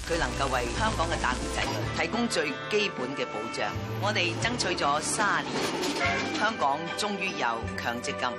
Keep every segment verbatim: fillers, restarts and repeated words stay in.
佢能夠為香港嘅打工仔女提供最基本嘅保障。我哋爭取咗三年，香港終於有強積金。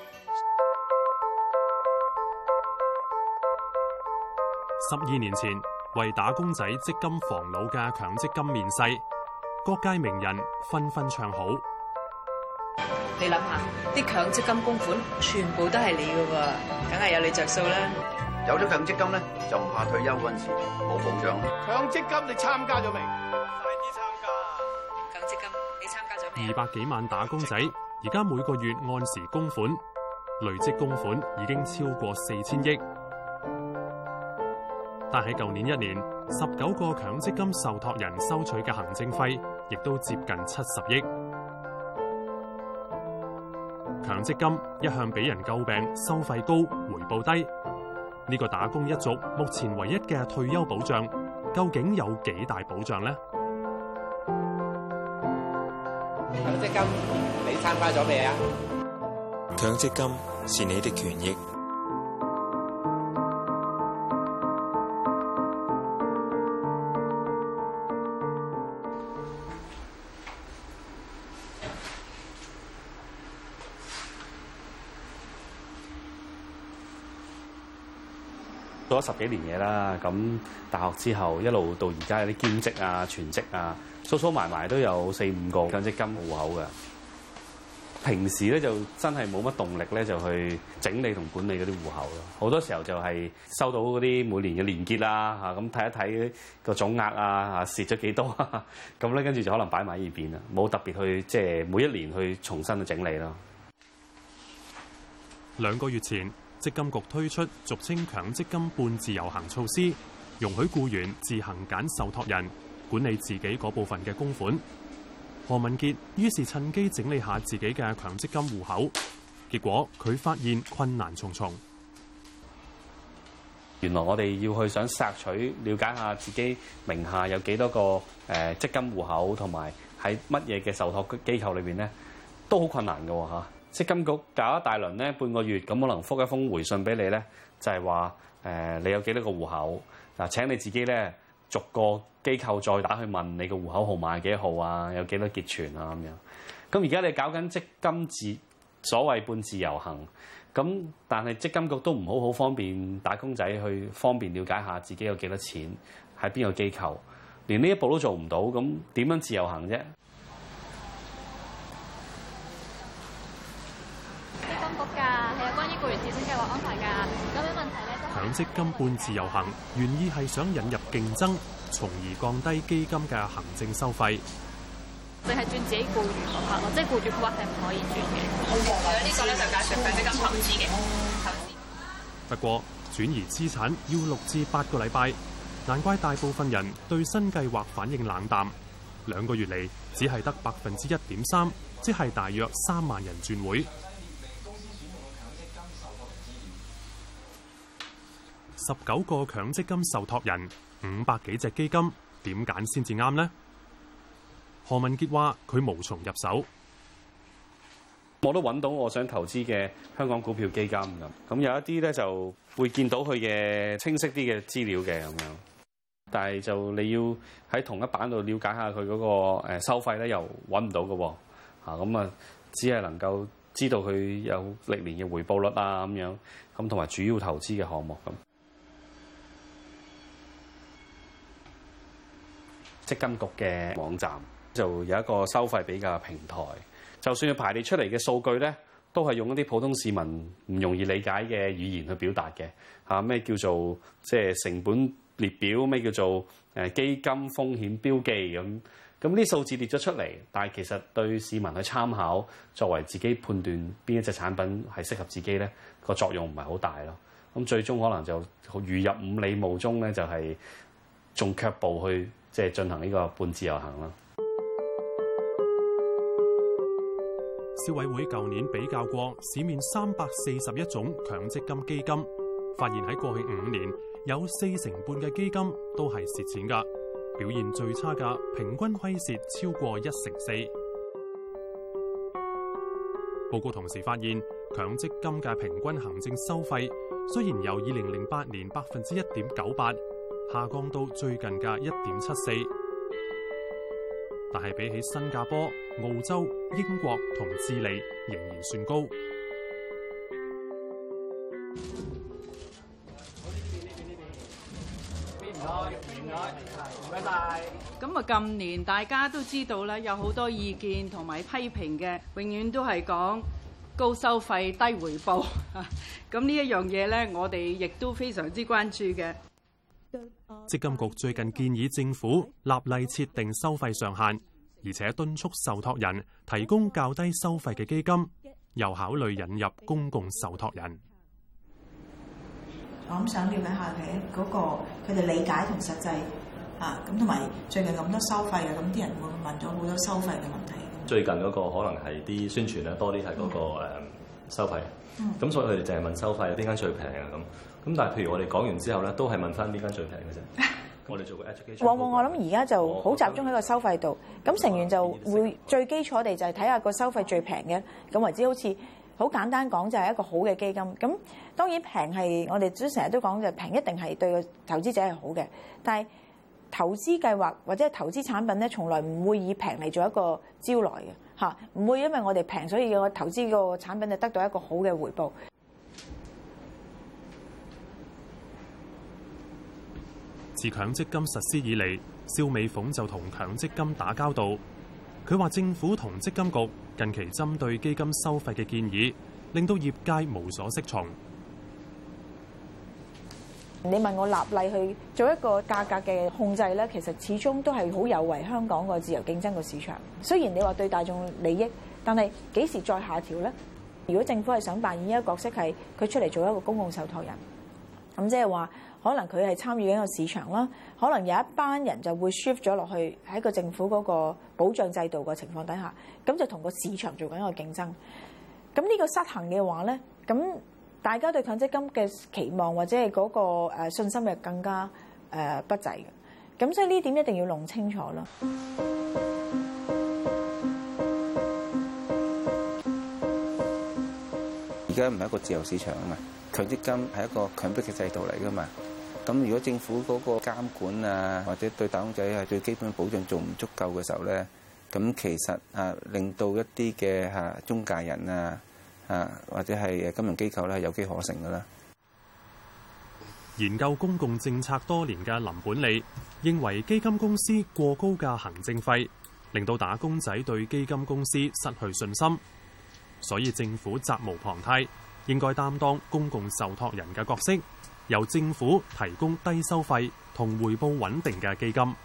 十二年前，為打工仔積金防老嘅強積金面世，各界名人紛紛唱好。 你諗下，啲強積金供款全部都係你㗎喎，梗係有你着數啦。 有咗強積金咧，就唔怕退休嗰陣時冇保障。 強積金你參加咗未？ 快啲參加！強積金你參加咗未？ 二百幾萬打工仔，而家每個月按時供款，累積供款已經超過四千億。但喺舊年一年，十九個強積金受託人收取嘅行政費，亦都接近七十億。強積金一向俾人詬病收費高、回報低。呢個打工一族目前唯一嘅退休保障，究竟有幾大保障呢？ 強積金你參加咗未啊？ 強積金是你的權益。 做咗十幾年嘢啦，咁大學之後一路到而家有啲兼職啊、全職啊，數數埋埋都有四五個強積金戶口嘅。平時咧就真係冇乜動力咧，就去整理同管理嗰啲戶口咯。好多時候就係收到嗰啲每年嘅年結啦，嚇咁睇一睇個總額啊，嚇蝕咗幾多，咁咧跟住就可能擺埋呢邊啦，冇特別去即係每一年去重新去整理咯。 兩個月前，積金局推出俗稱強積金半自由行措施，容許僱員自行揀受託人管理自己嗰部分嘅供款。何文傑於是趁機整理下自己嘅強積金戶口，結果佢發現困難重重。 原來我哋要去想索取了解下自己名下有幾多個誒積金戶口，同埋喺乜嘢嘅受託機構裏邊咧，都好困難嘅喎嚇。積金局搞一大輪咧，半個月咁可能覆一封回信俾你咧，就係話誒你有幾多個戶口嗱？請你自己咧逐個機構再打去問你個戶口號碼係幾號啊？有幾多結存啊？咁樣咁而家你搞緊積金自所謂半自由行咁，但係積金局都唔好好方便打工仔去方便了解下自己有幾多錢喺邊個機構，連呢一步都做唔到，咁點樣自由行啫？ 強積金半自由行原意係想引入競爭，從而降低基金嘅行政收費。 淨係轉自己僱員嗰 part 咯，即係僱主嗰 part 係唔可以轉嘅。呢個咧就介紹強積金投資嘅投資。 不過轉移資產要六至八個禮拜，難怪大部分人對新計劃反應冷淡。兩個月嚟只係得百分之一點三，即係大約三萬人轉會。十九個強積金受託人，五百幾隻基金，點揀先至啱呢？何文傑話：佢無從入手。 我都揾到我想投資嘅香港股票基金咁，咁有一啲咧就會見到佢嘅清晰啲嘅資料嘅咁樣，但係就你要喺同一版度了解下佢嗰個誒收費咧，又揾唔到嘅喎，嚇咁啊，只係能夠知道佢有歷年嘅回報率啊咁樣，咁同埋主要投資嘅項目咁。積金局嘅網站就有一個收費比較平台，就算要排列出嚟嘅數據咧，都係用一啲普通市民唔容易理解嘅語言去表達嘅嚇。咩叫做即係成本列表？咩叫做誒基金風險標記咁？咁呢數字列咗出嚟，但係其實對市民去參考，作為自己判斷邊一隻產品係適合自己咧，個作用唔係好大咯。咁最終可能就如入五里霧中咧，就係仲卻步去。即係進行呢個半自由行啦。 消委會舊年比較過市面三百四十一種強積金基金，發現喺過去五年有四成半嘅基金都係蝕錢㗎，表現最差嘅平均虧蝕超過一成四。報告同時發現，強積金嘅平均行政收費雖然由二零零八年百分之一點九八下降到最近嘅一點七四，但係比起新加坡、澳洲、英國同智利仍然算高。 咁啊，近年大家都知道啦，有好多意見同埋批評嘅，永遠都係講高收費低回報。咁呢一樣嘢咧，我哋亦都非常之關注嘅。 積金局最近建議政府立例設定收費上限，而且敦促受託人提供較低收費嘅基金，又考慮引入公共受託人。 我諗想了解下佢嗰個佢哋理解同實際啊，咁同埋最近咁多收費啊，咁啲人會問咗好多收費嘅問題。 最近嗰個可能係啲宣傳咧多啲係嗰個誒收費，咁、嗯、所以佢哋淨係問收費，邊間最平啊咁。咁但係譬如我哋講完之後咧，都係問翻邊間最平嘅啫。我哋做個 education。往往我諗而家就好集中喺個收費度，咁成員就會最基礎地就係睇下個收費最平嘅，咁為之好似好簡單講就係一個好嘅基金。咁當然平係我哋都成日都講就平一定係對個投資者係好嘅，但係投資計劃或者係投資產品咧，從來唔會以平嚟做一個招來嘅嚇，唔會因為我哋平所以個投資個產品就得到一個好嘅回報。 自強積金實施以嚟，蕭美鳳就同強積金打交道。佢話政府同積金局近期針對基金收費嘅建議，令到業界無所適從。 你問我立例去做一個價格嘅控制咧，其實始終都係好有違香港個自由競爭個市場。雖然你話對大眾利益，但係幾時再下調咧？如果政府係想扮演一個角色，係佢出嚟做一個公共受託人，咁即係話可能佢係參與緊個市場啦，可能有一班人就會 shift 咗落去喺個政府嗰個保障制度嘅情況底下，咁就同個市場做緊一個競爭。咁呢個失衡嘅話咧，咁大家對強積金嘅期望或者係嗰個誒信心係更加誒不濟嘅。咁所以呢點一定要弄清楚咯。 而家唔係一個自由市場啊嘛，強積金係一個強迫嘅制度嚟噶嘛。咁如果政府嗰個監管啊，或者對打工仔係對基本保障做唔足夠嘅時候咧，咁其實啊令到一啲嘅嚇中介人啊啊或者係金融機構咧係有機可乘噶啦。 研究公共政策多年嘅林本利認為，基金公司過高嘅行政費令到打工仔對基金公司失去信心，所以政府責無旁貸，應該擔當公共受託人嘅角色，由政府提供低收費同回報穩定嘅基金。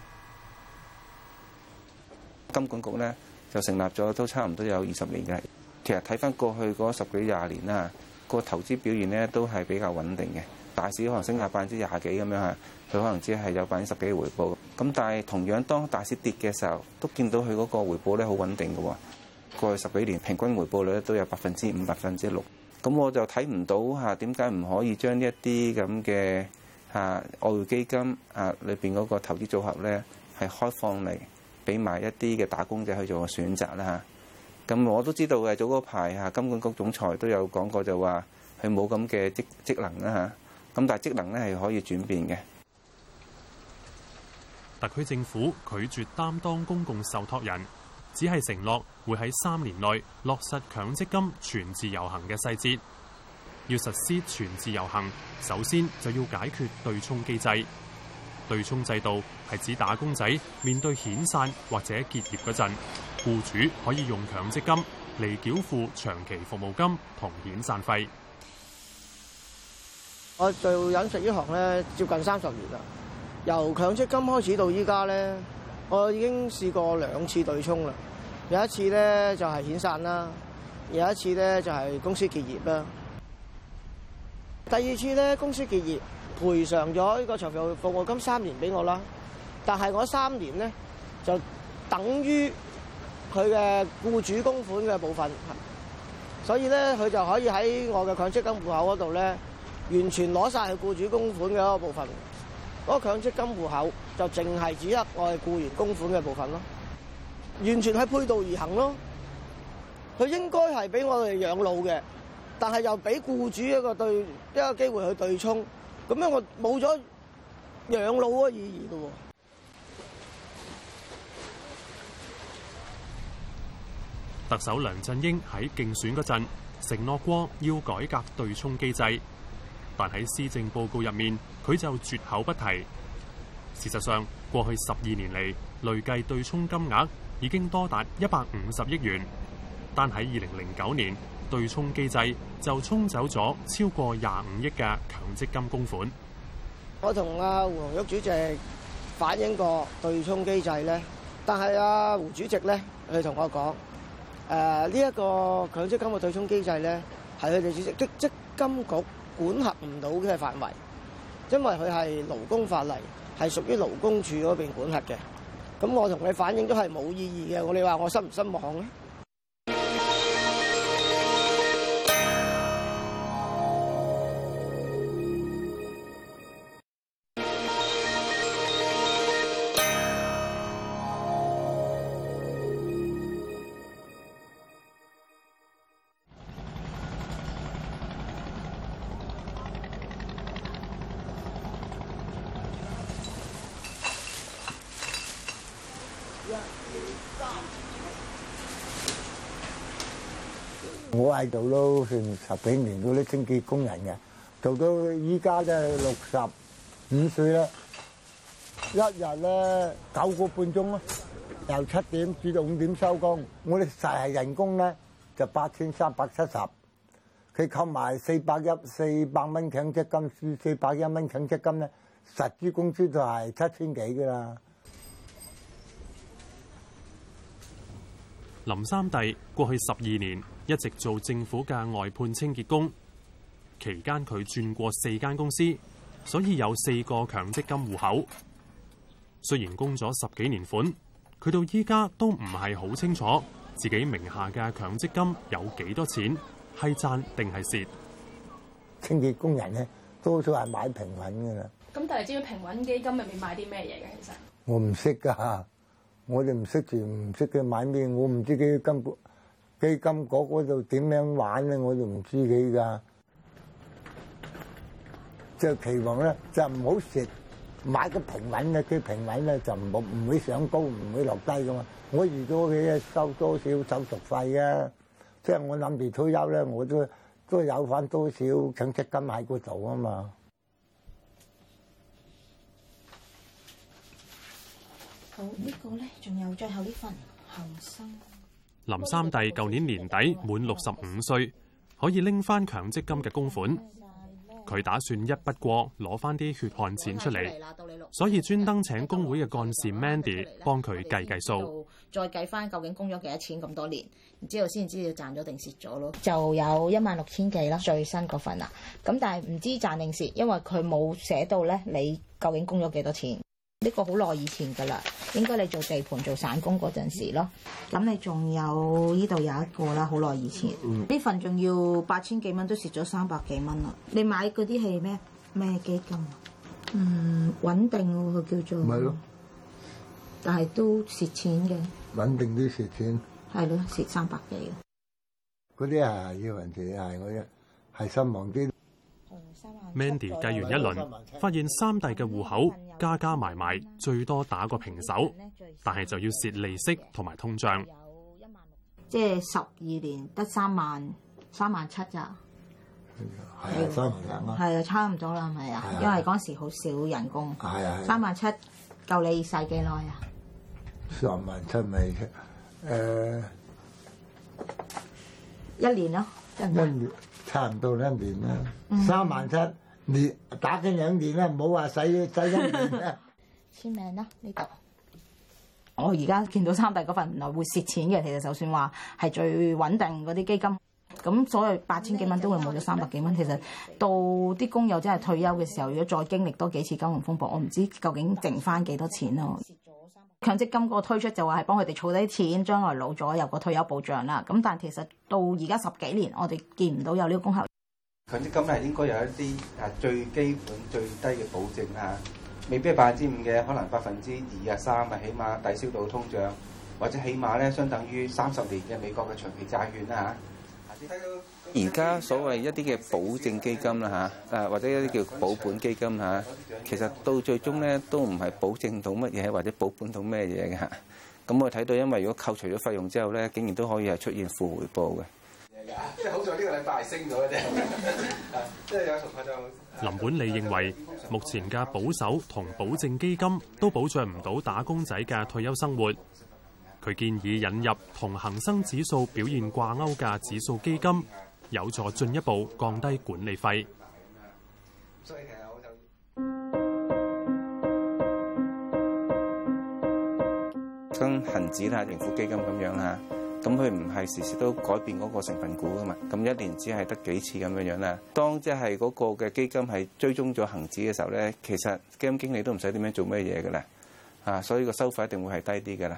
金管局咧就成立咗都差唔多有二十年嘅，其實睇翻過去嗰十幾廿年啦，個投資表現咧都係比較穩定嘅。大市可能升下百分之廿幾咁樣嚇，佢可能只係有百分之十幾嘅回報。咁但係同樣當大市跌嘅時候，都見到佢嗰個回報咧好穩定嘅喎。過去十幾年平均回報率都有百分之五、百分之六。咁我就睇唔到嚇點解唔可以將呢一啲咁嘅嚇外匯基金啊裏邊嗰個投資組合咧係開放嚟俾埋一啲嘅打工仔去做個選擇啦嚇。咁我都知道嘅，早嗰排嚇金管局總裁都有講過，就話佢冇咁嘅職職能啦嚇。咁但係職能咧係可以轉變嘅。 特區政府拒絕擔當公共受託人，只係承諾會喺三年內落實強積金全自由行嘅細節。要實施全自由行，首先就要解決對沖機制。對沖制度係指打工仔面對遣散或者結業嗰陣，僱主可以用強積金嚟繳付長期服務金同遣散費。 我做飲食呢行咧，接近三十年啦。由強積金開始到依家咧，我已經試過兩次對沖啦。有一次咧就係遣散啦，有一次咧就係公司結業啦。第二次咧公司結業，賠償咗呢個長期服務金三年俾我啦。但係我三年咧就等於佢嘅僱主供款嘅部分，所以咧佢就可以喺我嘅強積金戶口嗰度咧，完全攞晒佢僱主供款嘅一個部分，嗰個強積金戶口就淨係只得我係僱員供款嘅部分咯，完全係背道而行咯。佢應該係俾我哋養老嘅，但係又俾僱主一個對一個機會去對沖，咁樣我冇咗養老嘅意義嘅喎。 特首梁振英喺競選嗰陣承諾過要改革對沖機制，但喺施政報告入面佢就絕口不提。事實上，過去十二年嚟累計對沖金額已經多達一百五十億元，但喺二零零九年對沖機制就沖走咗超過廿五億嘅強積金供款。 我同阿胡紅玉主席反映過對沖機制咧，但係阿胡主席咧，佢同我講。誒呢一個強積金嘅對沖機制咧，係佢哋主席積積金局管轄唔到嘅範圍，因為佢係勞工法例，係屬於勞工處嗰邊管轄嘅。咁我同你反映都係冇意義嘅。我哋話我失唔失望咧？ 我喺度都算十幾年嗰啲清潔工人嘅，做到依家都係六十五歲啦。一日咧九個半鐘咯，由七點至到五點收工。我哋實係人工咧就八千三百七十，佢扣埋四百一四百蚊強積金，四百一蚊強積金咧，實質工資就係七千幾噶啦。 林三弟過去十二年一直做政府嘅外判清潔工，期間佢轉過四間公司，所以有四個強積金戶口。雖然供咗十幾年款，佢到依家都唔係好清楚自己名下嘅強積金有幾多錢，係賺定係蝕。 清潔工人咧，多數係買平穩㗎啦。 咁但係知唔知平穩基金入面買啲咩嘢嘅？其實我唔識㗎。我哋唔識住，唔識佢買咩，我唔知佢金基金嗰嗰度點樣玩咧，我就唔知佢噶。就期望咧就唔好蝕，買個平穩咧，佢平穩咧就唔好唔會上高，唔會落低噶嘛。我預咗佢收多少手續費啊，即係我諗住退休咧，我都都有翻多少強積金喺嗰度啊嘛。 好，呢個咧仲有最後呢份後生。 林三弟舊年年底滿六十五歲，可以拎翻強積金嘅供款。佢打算一筆過攞翻啲血汗錢出嚟，所以專登請工會嘅幹事 Mandy 幫佢計計數， 再計翻究竟供咗幾多錢咁多年，然之後先知道賺咗定蝕咗咯。就有一萬六千幾啦，最新嗰份啦。咁但係唔知賺定蝕，因為佢冇寫到咧，你究竟供咗幾多錢？呢個好耐以前㗎啦，應該你做地盤做散工嗰陣時咯。咁你仲有呢度有一個啦，好耐以前呢、嗯、份仲要八千幾蚊，都蝕咗三百幾蚊啦。你買嗰啲係咩咩基金啊？嗯，穩定喎，佢叫做。唔係咯。但係都蝕錢嘅。穩定啲蝕錢。係咯，蝕三百幾。嗰啲係要人哋係嗰啲係新忘啲。 Mandy 計完一輪，發現三弟嘅戶口加加埋埋最多打個平手，但係就要蝕利息同埋通脹。 即係十二年得三萬三萬七咋？ 係啊，三萬啊。 係啊，差唔多啦，係咪啊？因為嗰時好少人工。係啊。三萬七夠你使幾耐啊？ 三萬七咪誒一年咯，一年。差唔多兩年啦，三萬七年打緊兩年啦，唔好話使使一年啦。 簽名啦呢度。我而家見到三弟嗰份原來會蝕錢嘅，其實就算話係最穩定嗰啲基金，咁所謂八千幾蚊都會冇咗三百幾蚊。其實到啲工友真係退休嘅時候，如果再經歷多幾次金融風暴，我唔知究竟剩翻幾多錢咯。強積金個推出就話係幫佢哋儲低錢，將來老咗有個退休保障啦。咁但係其實到而家十幾年，我哋見唔到有呢個功效。 強積金係應該有一啲誒最基本最低嘅保證啊，未必係百分之五嘅，可能百分之二啊三啊，起碼抵消到通脹，或者起碼咧相等於三十年嘅美國嘅長期債券啦嚇。睇到而家所謂一啲嘅保證基金啦嚇，誒或者一啲叫保本基金嚇，其實到最終咧都唔係保證到乜嘢或者保本到咩嘢嘅。咁我睇到，因為如果扣除咗費用之後咧，竟然都可以係出現負回報嘅。 即係好在呢個禮拜係升咗嘅啫，即係有同學就林本利認為，目前嘅保守同保證基金都保障唔到打工仔嘅退休生活。佢建議引入同恒生指數表現掛鈎嘅指數基金，有助進一步降低管理費。 所以其實我就跟恒指啦、盈富基金咁樣啦，咁佢唔係時時都改變嗰個成分股噶嘛，咁一年只係得幾次咁樣樣啦。當即係嗰個嘅基金係追蹤咗恒指嘅時候咧，其實基金經理都唔使點樣做咩嘢噶啦，啊，所以個收費一定會係低啲噶啦。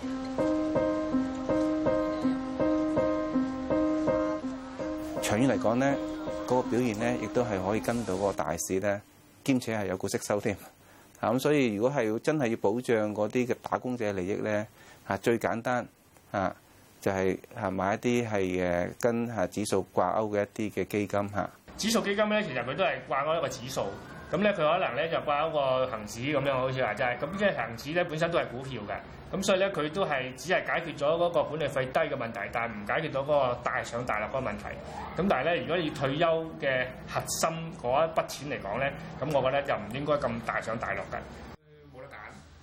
長遠嚟講咧，嗰個表現咧，亦都係可以跟到個大市咧，兼且係有股息收添。啊，咁所以如果係要真係要保障嗰啲嘅打工者利益咧，啊，最簡單啊，就係啊買一啲係誒跟啊指數掛鈎嘅一啲嘅基金嚇。 指數基金咧，其實佢都係掛鈎一個指數，咁咧佢可能咧就掛鈎個恆指咁樣，好似話齋。咁即係恆指咧本身都係股票嘅，咁所以咧佢都係只係解決咗嗰個管理費低嘅問題，但係唔解決到嗰個大上大落嗰個問題。咁但係咧，如果以退休嘅核心嗰一筆錢嚟講咧，咁我覺得就唔應該咁大上大落嘅。冇得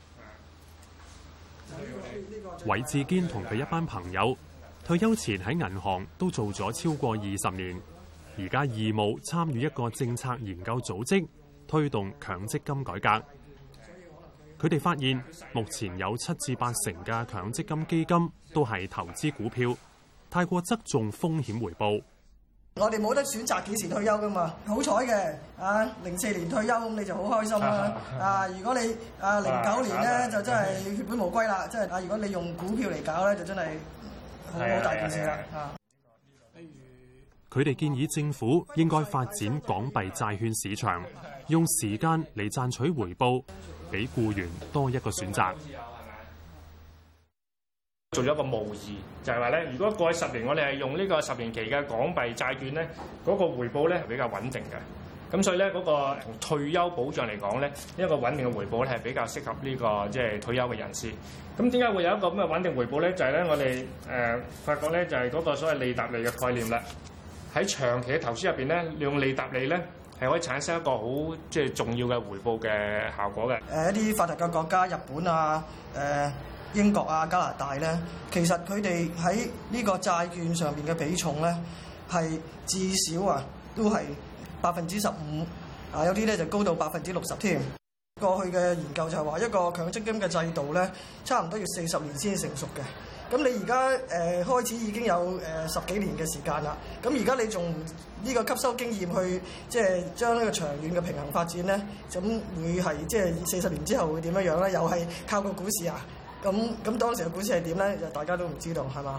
揀。 韋志堅同佢一班朋友退休前喺銀行都做咗超過二十年，而家義務參與一個政策研究組織，推動強積金改革。佢哋發現，目前有七至八成嘅強積金基金都係投資股票，太過側重風險回報。 我哋冇得選擇幾時退休噶嘛，好彩嘅啊，零四年退休咁你就好開心啦。啊，如果你啊零九年咧就真係血本無歸啦，即係啊，如果你用股票嚟搞咧，就真係好好大件事啦。啊， 佢哋建議政府應該發展港幣債券市場，用時間嚟賺取回報，俾僱員多一個選擇。 做咗一個模擬，就係話咧，如果過去十年我哋係用呢個十年期嘅港幣債券咧，嗰個回報咧係比較穩定嘅。咁所以咧，嗰個同退休保障嚟講咧，一個穩定嘅回報咧係比較適合呢個即係退休嘅人士。咁點解會有一個咁嘅穩定回報咧？就係咧，我哋誒發覺咧，就係嗰個所謂利搭利嘅概念啦。喺長期嘅投資入邊咧，利用利搭利咧係可以產生一個好即係重要嘅回報嘅效果嘅。誒一啲發達嘅國家，日本啊，誒英國啊、加拿大咧，其實佢哋喺呢個債券上面嘅比重咧，係至少啊都係百分之十五，啊有啲咧就高到百分之六十添。過去嘅研究就係話，一個強積金嘅制度咧，差唔多要四十年先成熟嘅。咁你而家誒開始已經有誒、呃、十幾年嘅時間啦。咁而家你仲呢個吸收經驗去即係將呢個長遠嘅平衡發展咧，咁會係即係四十年之後會點樣樣咧？又係靠個股市啊？咁咁當時嘅股市係點咧？就大家都唔知道，係嘛？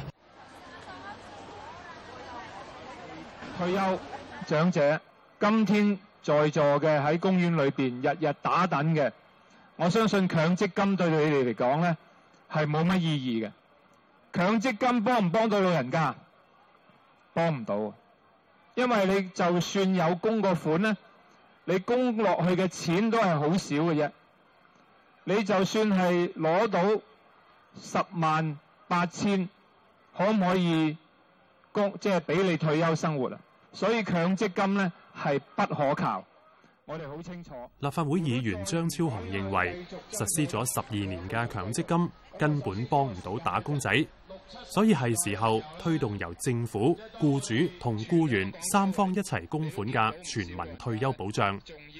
退休長者今天在座嘅喺公園裏邊日日打躉嘅，我相信強積金對你哋嚟講咧係冇乜意義嘅。強積金幫唔幫到老人家？幫唔到，因為你就算有供個款咧，你供落去嘅錢都係好少嘅啫。你就算係攞到十萬八千，可唔可以供即係俾你退休生活啊？所以強積金咧係不可靠。我哋好清楚。 立法會議員張超雄認為，實施咗十二年嘅強積金根本幫唔到打工仔，所以係時候推動由政府、僱主同僱員三方一齊供款嘅全民退休保障。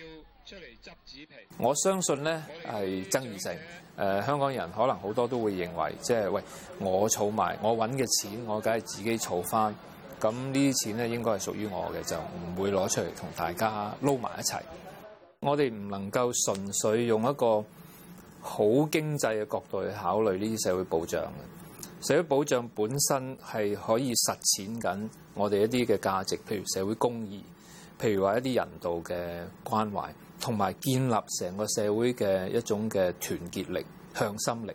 我相信咧係爭議性。誒、呃，香港人可能好多都會認為，即係喂，我儲埋我揾嘅錢，我梗係自己儲翻。咁呢啲錢咧應該係屬於我嘅，就唔會攞出嚟同大家撈埋一齊。我哋唔能夠純粹用一個好經濟嘅角度去考慮呢啲社會保障嘅。社會保障本身係可以實踐緊我哋一啲嘅價值，譬如社會公義，譬如話一啲人道嘅關懷，同埋建立成個社會嘅一種嘅團結力、向心力。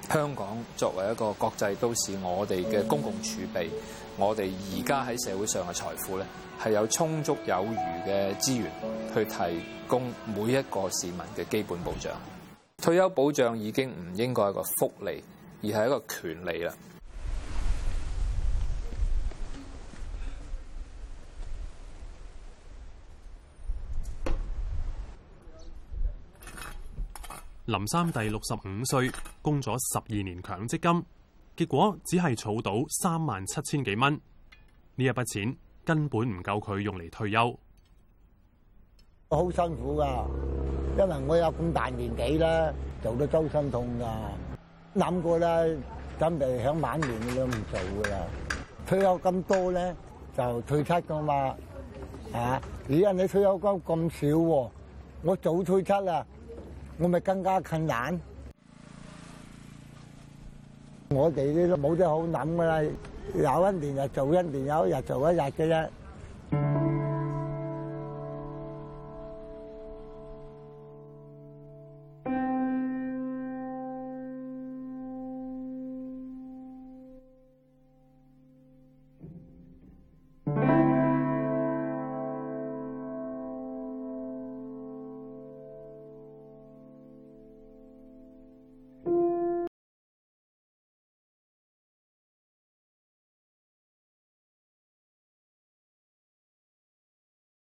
香港作為一個國際都市，我哋嘅公共儲備，我哋而家喺社會上嘅財富咧，係有充足有餘嘅資源去提供每一個市民嘅基本保障。退休保障已經唔應該係一個福利，而係一個權利啦。 林三弟六十五歲，供咗十二年強積金，結果只係儲到三萬七千幾蚊。呢一筆錢根本唔夠佢用嚟退休。 好辛苦噶，因為我有咁大年紀啦，做到周身痛噶。諗過啦，準備響晚年都唔做噶啦。退休咁多咧，就退出噶嘛。啊，而家你退休金咁少喎，我早退出啦。我咪更加困難，我哋呢都冇得好諗噶啦，有一年就做一年，有一日做一日嘅啫。